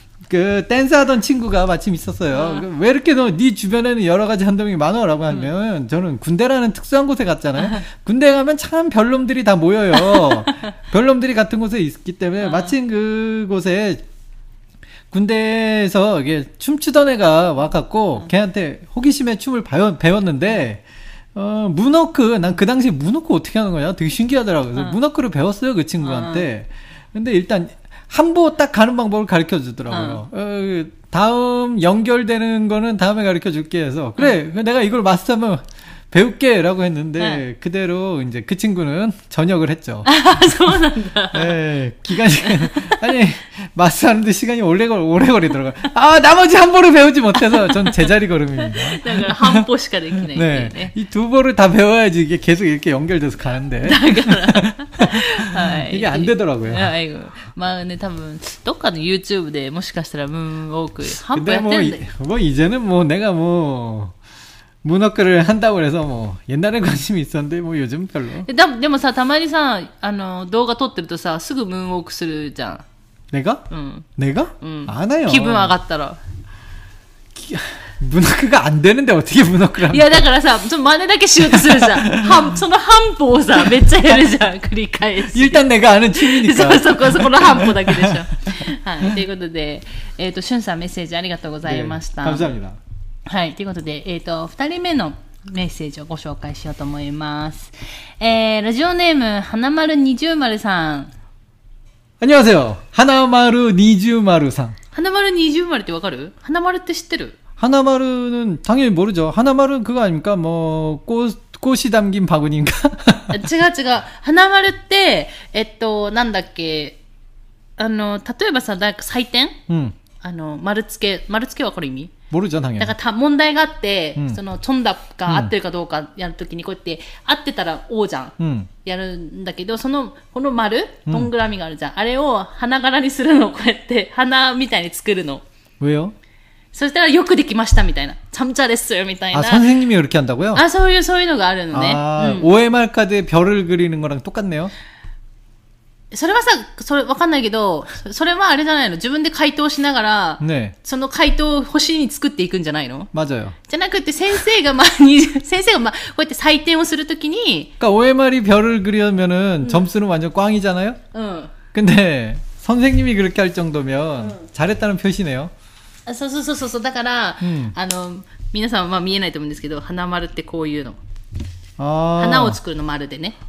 그 댄스 하던 친구가 마침 있었어요. 어. 왜 이렇게 너 네 주변에는 여러 가지 한동이 많아라고 하면, 음. 저는 군대라는 특수한 곳에 갔잖아요. 군대 가면 참 별놈들이 다 모여요. 별놈들이 같은 곳에 있기 때문에 어. 마침 그곳에 군대에서 이게 춤추던 애가 와갖고 어. 걔한테 호기심에 춤을 배웠, 배웠는데, 어, 문워크, 난 그 당시에 문워크 어떻게 하는 거냐? 되게 신기하더라고요. 그래서 어. 문워크를 배웠어요, 그 친구한테. 어. 근데 일단, 한 보 딱 가는 방법을 가르쳐 주더라고요. 어. 어, 다음 연결되는 거는 다음에 가르쳐 줄게 해서, 그래, 어. 내가 이걸 마스터하면 배울게 라고 했는데, 네. 그대로 이제 그 친구는 전역을 했죠. 아, 소원한다. 네, 기간이, 아니, 마스터하는데 시간이 오래, 오래 걸리더라고요. 아, 나머지 한 보를 배우지 못해서 전 제자리 걸음입니다. 한 보시가 되기네. 네. 네. 이 두 보를 다 배워야지 이게 계속 이렇게 연결돼서 가는데. 이게 안 되더라고요. 아이고. まあね、多分どっかの YouTube でもしかしたらムーンウォーク半歩やってるんで。 뭐, 뭐 이제는 뭐 내가 뭐 문워크를 한다고 해서 뭐 옛날에 관심이 있었는데 뭐 요즘 별로. で, でもさ、たまにさ、あの動画撮ってるとさ、すぐムーンウォークするじゃん。 내가? 응. 내가? 응. 안 해요. 기분 上がったら. 기, 문어크가 안 되는데 어떻게 문어크를 いやだからさ、ちょっと真似だけしようとするじゃん。半その半歩をさ、めっちゃやるじゃん。繰り返し。 일단 내가 아는 취미니까. そうそこそこの半歩だけでしょ。はい。ということで、えっ、ー、としゅんさんメッセージありがとうございました。 네, 감사합니다. はい。ということで、えっ、ー、と二人目のメッセージをご紹介しようと思います。えー、ラジオネーム花丸二重丸さん。 안녕하세요. 하나마루 니주마루さん. 하나마루 니주마루ってわかる? 하나마루って知ってる? 하나마루는 당연히 모르죠. 하나마루 그거 아닙니까? 뭐 꽃, 꽃이 담긴 바구니인가? 違う違う。하나마루って、えっと、なんだっけ、あの、例えばさ、なんか採点、うん、あの、丸付け、丸付けはこれ意味 모르죠 당연히. だからた問題があって、うん、そのチョンダが合ってるかどうかやるときにこうやって合ってたら王じゃん、うん、やるんだけど、そのこの丸どんぐらみがあるじゃん、うん、あれを花柄にするのをこうやって花みたいに作るの。 왜요? そしたらよくできましたみたいな、참잘했어요みたいな。 아 선생님이 그렇게 한다고요? 아そういうそういうのがあるのね。 아 음. 오엠알 카드에 별을 그리는 거랑 똑같네요. それはさ、それわかんないけど、それはあれじゃないの、自分で回答しながら、ね、その回答を星に作っていくんじゃないの？ 맞아요. じゃなくて先生がまあに先生がまあこうやって採点をするときに、 그러니까 오엠알이 별을 그리면은 음. 점수는 완전 꽝이잖아요. 응. 근데 선생님이 그렇게 할 정도면 응. 잘했다는 표시네요. そうそうそうそう、だから、うん、あの皆さんはまあ見えないと思うんですけど、花丸ってこういうの。あ、花を作るの丸でね。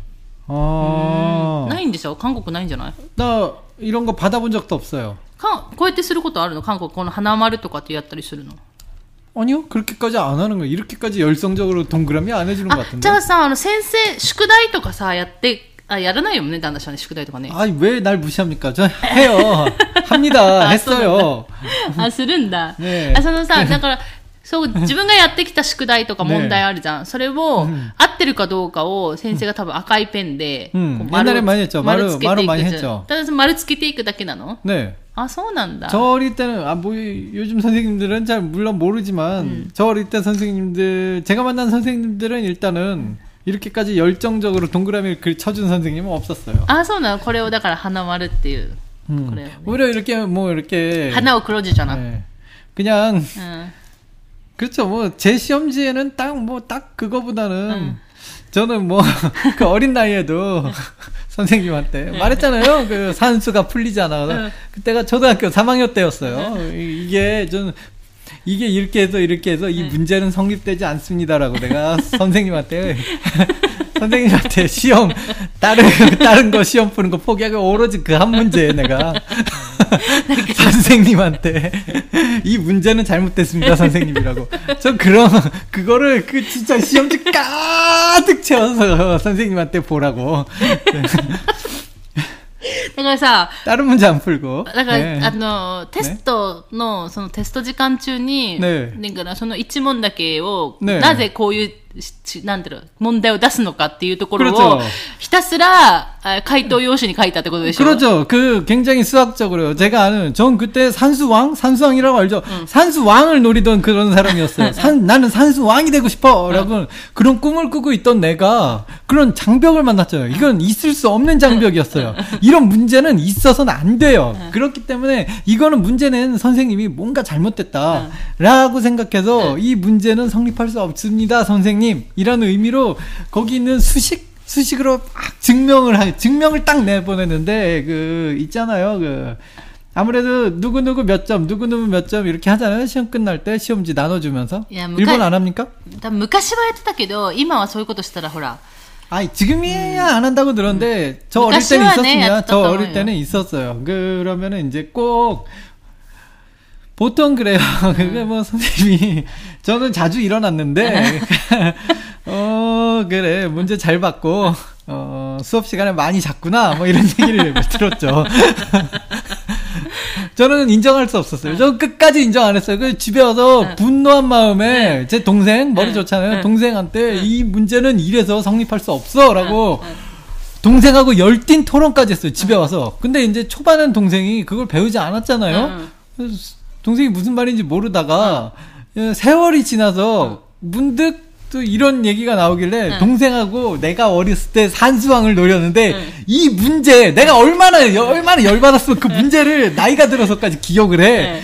아, ないんでしょ? 한국 ないんじゃない? 나 이런 거 받아본 적도 없어요. かこうやってすることあるの? 한국 この花丸とかってやったりするの? 아니요, 그렇게까지 안 하는 거예요. 이렇게까지 열성적으로 동그라미 안 해주는 것 같은데. じゃあさ、あの先生宿題とかさやってあやらないよね、旦那さんね、宿題とかね。 아니 왜 날 무시합니까? 저 해요. 합니다. 했어요. あ、するんだ。ね、あ、そのさ、だから。そう自分がやってきた宿題とか問題あるじゃん。ね、それを、うん、合ってるかどうかを先生が多分赤いペンで、うん、丸を丸つけていくじゃん。ただ丸つけていくだけなの? 네. 아, そうなんだ. 저 어릴 때는 아, 뭐 요즘 선생님들은 잘 물론 모르지만 음. 저 어릴 때 선생님들 제가 만난 선생님들은 일단은 이렇게까지 열정적으로 동그라미를 글 쳐준 선생님은 없었어요. 아, そうなの. これをだから花丸っていう. 음. 그래요. 오히려 이렇게 뭐 이렇게 하나を그려주잖아. 네. 그냥 음. 그렇죠. 뭐 제 시험지에는 딱 뭐 딱 그거보다는 응. 저는 뭐 그 어린 나이에도 선생님한테 말했잖아요. 그 산수가 풀리잖아. 응. 그때가 초등학교 삼 학년 때였어요. 응. 이게 좀 이게 이렇게 해서 이렇게 해서 이 문제는 성립되지 않습니다라고 내가 선생님한테 선생님한테 시험 다른 다른 거 시험 푸는 거 포기하고 오로지 그 한 문제에 내가 선생님한테 이 문제는 잘못됐습니다 선생님이라고. 저 그런 그거를 그 진짜 시험지 가득 채워서 선생님한테 보라고. だからさ、 다른 문제 안 풀고. だから、ね、あのテストのそのテスト時間中に、ね、だからその一問だけを、ね、なぜこういうなんていうの問題を出すのかっていうところをひたすら回答用紙に書いたってことでしょ? 그렇죠. 그 굉장히 수학적으로요. 제가 아는 전 그때 산수왕, 산수왕이라고 알죠. 응. 산수왕을 노리던 그런 사람이었어요. 산, 나는 산수왕이 되고 싶어라고 응. 그런 꿈을 꾸고 있던 내가 그런 장벽을 만났죠. 이건 있을 수 없는 장벽이었어요. 이런 문제는 있어서는 안 돼요. 응. 그렇기 때문에 이거는 문제는 선생님이 뭔가 잘못됐다라고 생각해서 이 문제는 성립할 수 없습니다, 선생님. 이라는 의미로 거기 있는 수식 수식으로 막 증명을 하, 증명을 딱 내보냈는데 그 있잖아요. 그 아무래도 누구 누구 몇 점, 누구 누구 몇 점 이렇게 하잖아요. 시험 끝날 때 시험지 나눠주면서. 야, 일본 안 합니까? 昔はやってたけど今はそういうことしたらほら. 아니 지금이야 음. 안 한다고 들었는데 음. 저 어릴 때는 있었으면 저 어릴 때는 있었어요. 그러면은 이제 꼭 보통 그래요. 그게 뭐 선생님이 저는 자주 일어났는데 어 그래 문제 잘 받고 어 수업 시간에 많이 잤구나 뭐 이런 얘기를 들었죠. 저는 인정할 수 없었어요. 저 끝까지 인정 안 했어요. 그 집에 와서 분노한 마음에 제 동생 머리 좋잖아요. 동생한테 이 문제는 이래서 성립할 수 없어라고 동생하고 열띤 토론까지 했어요. 집에 와서. 근데 이제 초반엔 동생이 그걸 배우지 않았잖아요. 동생이 무슨 말인지 모르다가 어. 세월이 지나서 문득 또 이런 얘기가 나오길래 응. 동생하고 내가 어렸을 때 산수왕을 노렸는데 응. 이 문제 내가 얼마나 얼마나 열받았으면 그 문제를 나이가 들어서까지 기억을 해. 응.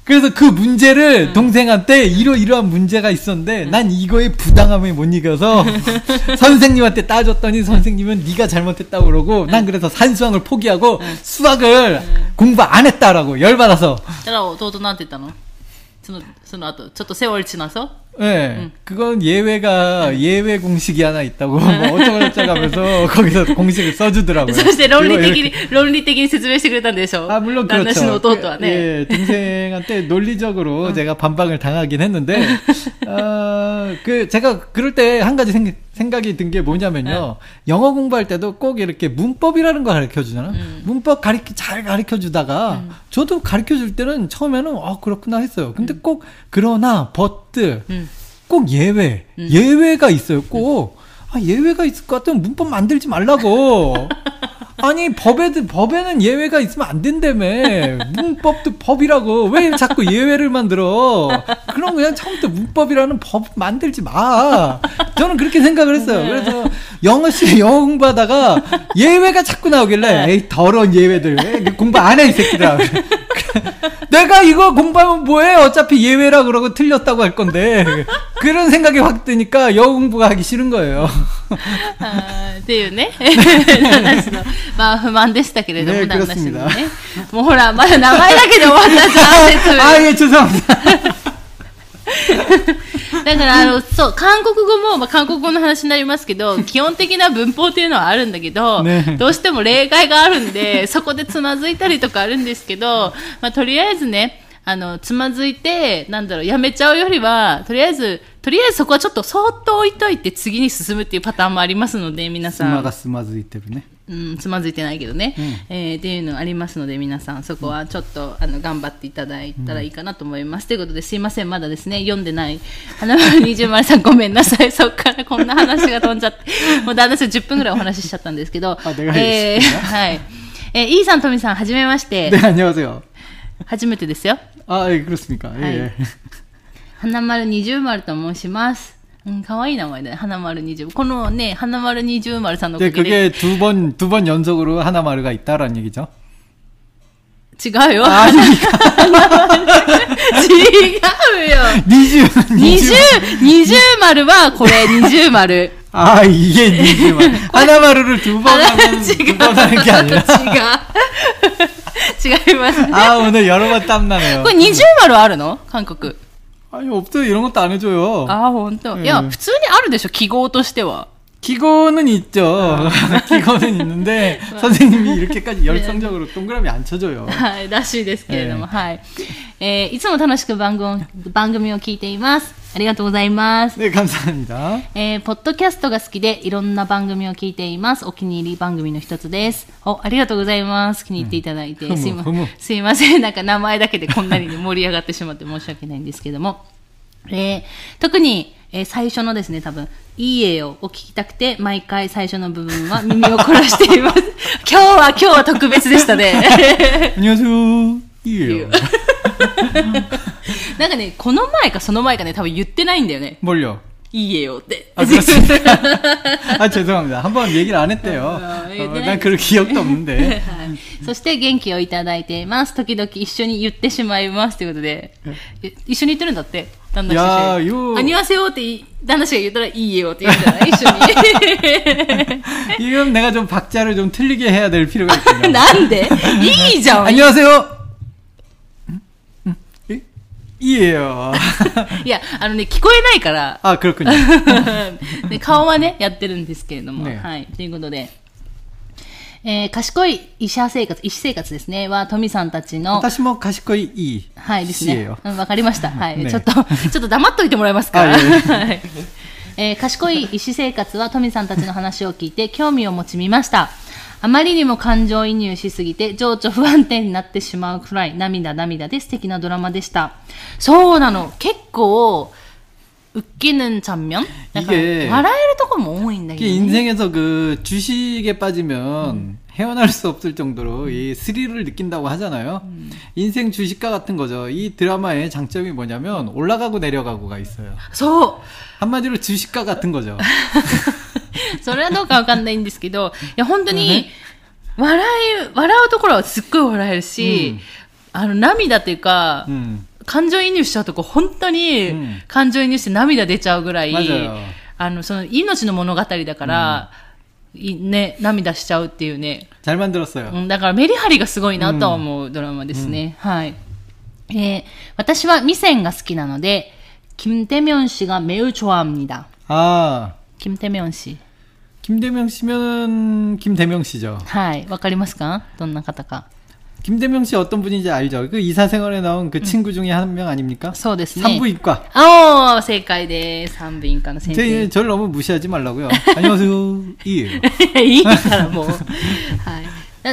그래서 그 문제를 음. 동생한테 이러이러한 문제가 있었는데 음. 난 이거에 부당함을 못 이겨서 선생님한테 따졌더니 선생님은 네가 잘못했다고 그러고 음. 난 그래서 산수학을 포기하고 음. 수학을 음. 공부 안 했다라고 열받아서. だから弟なんて言ったの? そのその後ちょっとセオリーなさ 네, 응. 그건 예외가 응. 예외 공식이 하나 있다고 뭐 어쩌고저쩌고 하면서 거기서 공식을 써주더라고요. そして論理的に論理的に説明してくれたんでしょ? 아 물론 그렇죠. 그, 예, 동생한테 논리적으로 응. 제가 반박을 당하긴 했는데, 어, 그 제가 그럴 때 한 가지 생각 생각이 든 게 뭐냐면요, 응. 영어 공부할 때도 꼭 이렇게 문법이라는 거 가르쳐 주잖아. 응. 문법 가르쳐 잘 가르쳐 주다가 응. 저도 가르쳐 줄 때는 처음에는 어 그렇구나 했어요. 근데 응. 꼭 그러나 but 응. 꼭 예외 응. 예외가 있어요. 꼭 아, 예외가 있을 것 같으면 문법 만들지 말라고. 아니 법에 법에는 예외가 있으면 안 된다며. 문법도 법이라고 왜 자꾸 예외를 만들어? 그럼 그냥 처음부터 문법이라는 법 만들지 마. 저는 그렇게 생각을 했어요. 그래서 영어 씨 영어 공부하다가 예외가 자꾸 나오길래 에이 더러운 예외들 공부 안 해 이 새끼들아. 내가 이거 공부하면 뭐해? 어차피 예외라 그러고 틀렸다고 할 건데. 그런 생각이 확 드니까 영어 공부가 하기 싫은 거예요. っていうね話のまあ不満でしたけれども、ね、話のねもうほらまだ名前だけで終わったじゃん説明あいやちょっと待ってだからあのそう韓国語も、まあ、韓国語の話になりますけど基本的な文法っていうのはあるんだけど、ね、どうしても例外があるんでそこでつまずいたりとかあるんですけど、まあ、とりあえずねあのつまずいてなんだろうやめちゃうよりはとりあえずとりあえずそこはちょっとそーっと置いといて次に進むっていうパターンもありますので皆さんつまがつまずいてるねうん、つまずいてないけどね、うんえー、っていうのありますので皆さんそこはちょっと、うん、あの頑張っていただいたらいいかなと思います、うん、ということですいませんまだですね読んでない花丸二重丸さんごめんなさいそっからこんな話が飛んじゃってもう旦那さんじゅっぷんぐらいお話ししちゃったんですけどえー、はい、えー、イーさんトミさんはじめまして 네 안녕하세요 初めてですよあ、えー、그렇습니까はい、 花丸二重丸と申しますうん、かわいい名前だね。花丸二重。このね、花丸二重丸さんのおかげで。 그게 두 번, 두 번 연속으로 하나마루가 있다라는 얘기죠? 違うよ。 あ、違うよ。二重、 二重、二重丸はこれ、二重丸。 아, 이게 니즈 말. 하나마루를 두 번 하면 두 번 하는 게 아니라. 違う。違いますね. 아, 오늘 여러 번 땀나네요. これ二重丸あるの? 한국. 아니, 없어요. 이런 것도 안 해줘요. 아, 진짜. 네. 야, 普通にあるでしょ, 기고としては. 기고는 있죠. 기고는 있는데 선생님이 이렇게까지 열성적으로 동그라미 안 쳐줘요. はい、らしいですけれども、はい。えー、いつも楽しく番組、番組を聞いています。ありがとうございます。 ね、감사합니다。 えー、ポッドキャストが好きでいろんな番組を聞いています。お気に入り番組の一つです。お、ありがとうございます。気に入っていただいて、うん、すいません。すいません。なんか名前だけでこんなに盛り上がってしまって申し訳ないんですけども、えー、特にえー、最初のですね、多分、いいえを聞きたくて、毎回最初の部分は耳を凝らしています。今日は、今日は特別でしたね。 안녕하세요。いいえよ。 なんかね、この前かその前かね、多分言ってないんだよね。 뭘요？ いいえよって。 あ、그렇습니까? 아, 죄송합니다. 한번 얘기를 안 했대요. 어, 난 그럴 기억도 없는데. そして元気をいただいています。時々一緒に言ってしまいますということで、一緒に言ってるんだって。旦那氏。안녕하세요って旦那氏が言ったらいいよって言うんじゃない一緒に。 이건 내가 좀 박자를 좀 틀리게 해야 될 필요가 있군요. なんで? いいじゃん. 안녕하세요. 이에요. いや、あのね、聞こえないから。 あ、그렇군요. で顔はね、やってるんですけれども。ね、はい。ということで。えー、賢い医者生活、医師生活ですね。は、トミさんたちの。 私も賢いいい。 はいですね。わ、うん、かりました。はい、ね。ちょっと、ちょっと黙っといてもらえますか。はい。えー、賢い医師生活は、トミさんたちの話を聞いて、興味を持ち見ました。あまりにも感情移入しすぎて情緒不安定になってしまうくらい涙涙で素敵なドラマでした。そうなの。結構웃기는 장면? 이게笑えるところも多いんだけどね. 인생에서 그 주식에 빠지면 음. 헤어날 수 없을 정도로 이 스릴을 느낀다고 하잖아요. 음. 인생 주식과 같은 거죠. 이 드라마의 장점이 뭐냐면 올라가고 내려가고가 있어요. 소. 한마디로 주식과 같은 거죠. それはどうかわかんないんですけど、いや本当に笑い笑うところはすっごい笑えるし、うん、あの涙というか、うん、 感情移入しちゃうとこ本当に感情移入して涙出ちゃうぐらい、 うん、 あのその命の物語だから、うん、ね、涙しちゃうっていうね。 잘 만들었어요。 だからメリハリがすごいなと思うドラマですね。うん、はい。えー、私はミセンが好きなので、김대면 씨가 매우 좋아합니다. 아, 김대면 씨. 김대명 씨면은 김대명 씨죠. はい、わかりますか？どんな方か。 김대명 씨 어떤 분인지 알죠? 그 이사생활에 나온 그 음. 친구 중에 한 명 아닙니까? そうですね。 산부인과. 아, 正解です。산부인과의先生。 저를 너무 무시하지 말라고요. 안녕하세요. 이에요. いいからもう。はい。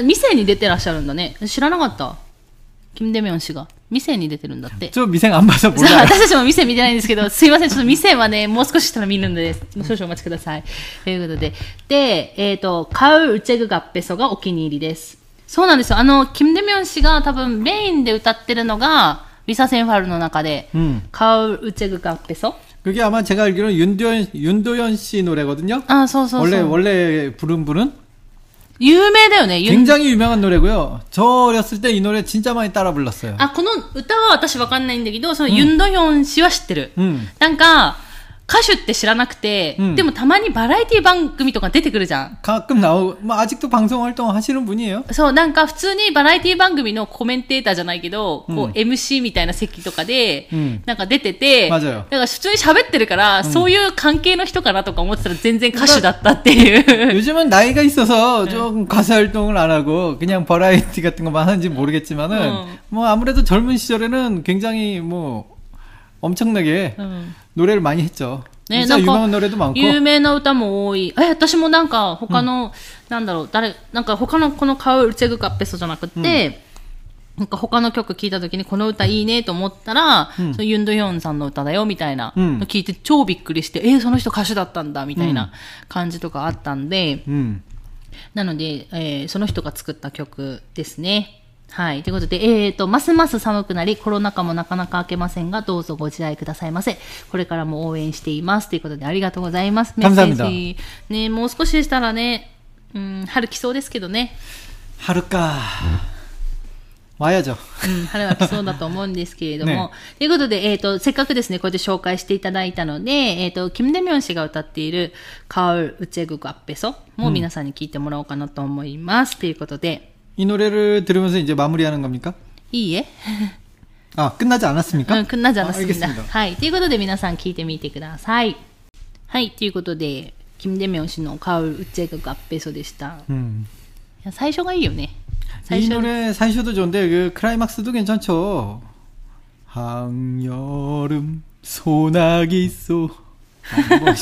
店に出てらっしゃるんだね。知らなかった。김대면氏が店に出てるんだって。 ちょ、店안 봐서 몰라요。 私たちも店見てないんですけど、すいません、ちょっと店はね、もう少ししたら見るんで、少々お待ちください。ということで。で、えっと、カウルチェグガッペソがお気に入りです。そうなんですよ。あの、김대면氏が多分メインで歌ってるのが、리사センファルの中で、うん、カウルチェグガッペソ。 그게 아마 제가 알기로는 윤도현, 윤도현 씨 노래거든요. 아, そうそうそう。 원래, 원래 부른 분은? 有名だよね。 굉장히 유명한 노래고요. 저 어렸을 때 이 노래 진짜 많이 따라 불렀어요. あ、この歌は私わかんないんだけど、そのユンドヒョン氏は知ってる。 うん、 なんか、歌手って知らなくて、うん、でもたまにバラエティ番組とか出てくるじゃん。 가끔 나오, 뭐 아직도 방송 활동 하시는 분이에요. そう、なんか普通にバラエティ番組のコメンテーターじゃないけど、 うん、 こう エムシー みたいな席とかで、 うん、 なんか出てて、 맞아요。 だから普通に喋ってるから、うん、そういう関係の人かなとか思ってたら全然歌手だったっていう。 요즘은 나이가 있어서 좀 가수 활동을 안 하고 그냥 버라이티 같은 것만 하는지 모르겠지만은 음. 뭐 아무래도 젊은 시절에는 굉장히 뭐 엄청나게 음. 노래를 많이 했죠. ね、なんか有名な歌も多い。え、私もなんか他の、うん、なんだろう、誰、なんか他のこのカウルチェグカッペソじゃなくて、うん、なんか他の曲聞いた時にこの歌いいねと思ったら、うん、そのユンドヒョンさんの歌だよみたいなの聞いて超びっくりして、うん、えー、その人歌手だったんだみたいな感じとかあったんで、うん、なので、えー、その人が作った曲ですね。はい。ということで、えーと、ますます寒くなり、コロナ禍もなかなか明けませんが、どうぞご自愛くださいませ。これからも応援しています。ということで、ありがとうございます。メッセージ。ね、もう少ししたらね、うん、春来そうですけどね。 春か。와야죠。 うん、春は来そうだと思うんですけれども。ね、ということで、えーと、せっかくですね、こうやって紹介していただいたので、えーと、김대면氏が歌っている、カウルウチェグガッペソも皆さんに聞いてもらおうかなと思います。と、うん、いうことで、 이 노래를 들으면서 이제 마무리하는 겁니까? 이에? 아, 끝나지 않았습니까? 응, 끝나지 않았습니다. 아, 알겠습니다. ということで皆さん聞いてみてください。はい、ということで、김대면氏のカウルウチェグガッペソでした。 음. いや、最初がいいよね。 이 노래 사이쇼도 좋은데 그 클라이막스도 괜찮죠. 한여름 소나기 쏘. 뭐,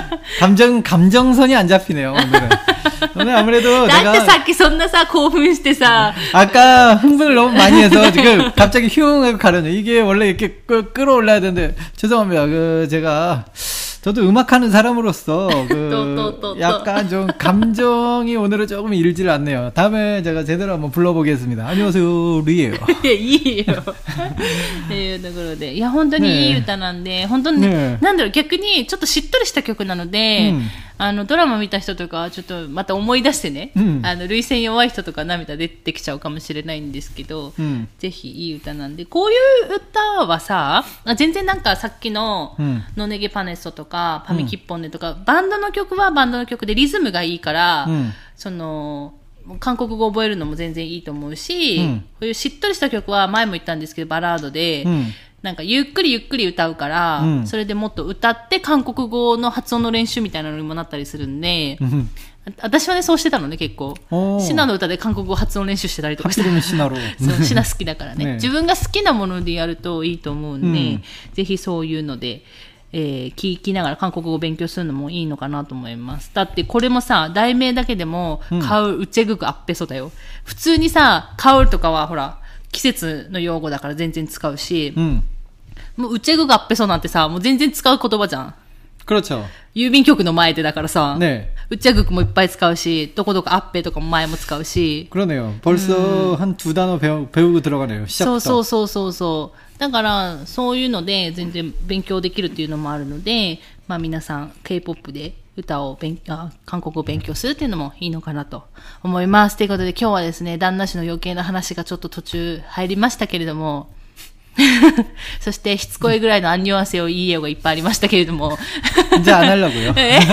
감정 감정선이 안 잡히네요 오늘은. 오늘 아무래도 내가 だってさっきそんなさ興奮してさ 아까 흥분을 너무 많이 해서 지금 갑자기 흉하게 가려요. 이게 원래 이렇게 끌, 끌어올라야 되는데 죄송합니다. 그 제가 저도 음악하는 사람으로서 그 또, 또, 또, 약간 좀 감정이 오늘은 조금 일지를 않네요. 다음에 제가 제대로 한번 불러보겠습니다. 안녕하세요, 리에요. いや、いいよ。っていうところで、いや、本当にいい歌なんで、本当に、ね、なんだろう、逆にちょっとしっとりした曲なので、うん、あのドラマ見た人とかちょっとまた思い出してね、うん、あの涙腺弱い人とか涙出てきちゃうかもしれないんですけど、うん、ぜひいい歌なんで、こういう歌はさ、全然なんかさっきのノネゲパネッソとかパミキッポンネとか、うん、バンドの曲はバンドの曲でリズムがいいから、うん、その韓国語を覚えるのも全然いいと思うし、うん、こういうしっとりした曲は前も言ったんですけどバラードで、うん、なんかゆっくりゆっくり歌うから、うん、それでもっと歌って韓国語の発音の練習みたいなのにもなったりするんで、うん、私はねそうしてたのね結構シナの歌で韓国語発音練習してたりとかしてシナそうシナ好きだからねね自分が好きなものでやるといいと思うんで、うん、ぜひそういうのでえー、聞きながら韓国語を勉強するのもいいのかなと思います。だってこれもさ題名だけでも、うん、カウルウチェグクアッペソだよ。普通にさカウルとかはほら季節の用語だから全然使うし、うん、もうウチェグクアッペソなんてさもう全然使う言葉じゃん。 그렇죠。 郵便局の前でだからさ、 ね、 ウチェグクもいっぱい使うし、どこどこアッペとかも前も使うし。 그러네요。벌써 한 두 단어 배우 배우고 들어가네요。 そうそうそうそうそう。だからそういうので全然勉強できるっていうのもあるので、まあ皆さん K-ポップ で歌を勉あ韓国語を勉強するっていうのもいいのかなと思います。ということで今日はですね旦那氏の余計な話がちょっと途中入りましたけれどもそしてしつこいぐらいのアンニュアンセをいい絵がいっぱいありましたけれどもじゃあ안 하려고요。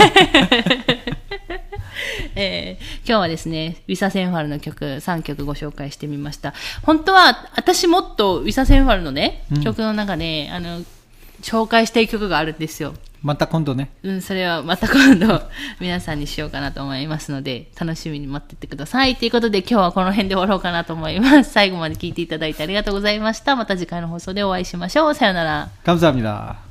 えー、今日はですね、ウィサ・センファルの曲さんきょくご紹介してみました。本当は私もっとウィサ・センファルのね、うん、曲の中であの紹介したい曲があるんですよ。 また今度ね。 うん、それはまた今度皆さんにしようかなと思いますので、楽しみに待っててください。ということで今日はこの辺で終わろうかなと思います。最後まで聞いていただいてありがとうございました。また次回の放送でお会いしましょう。さよなら。 감사합니다。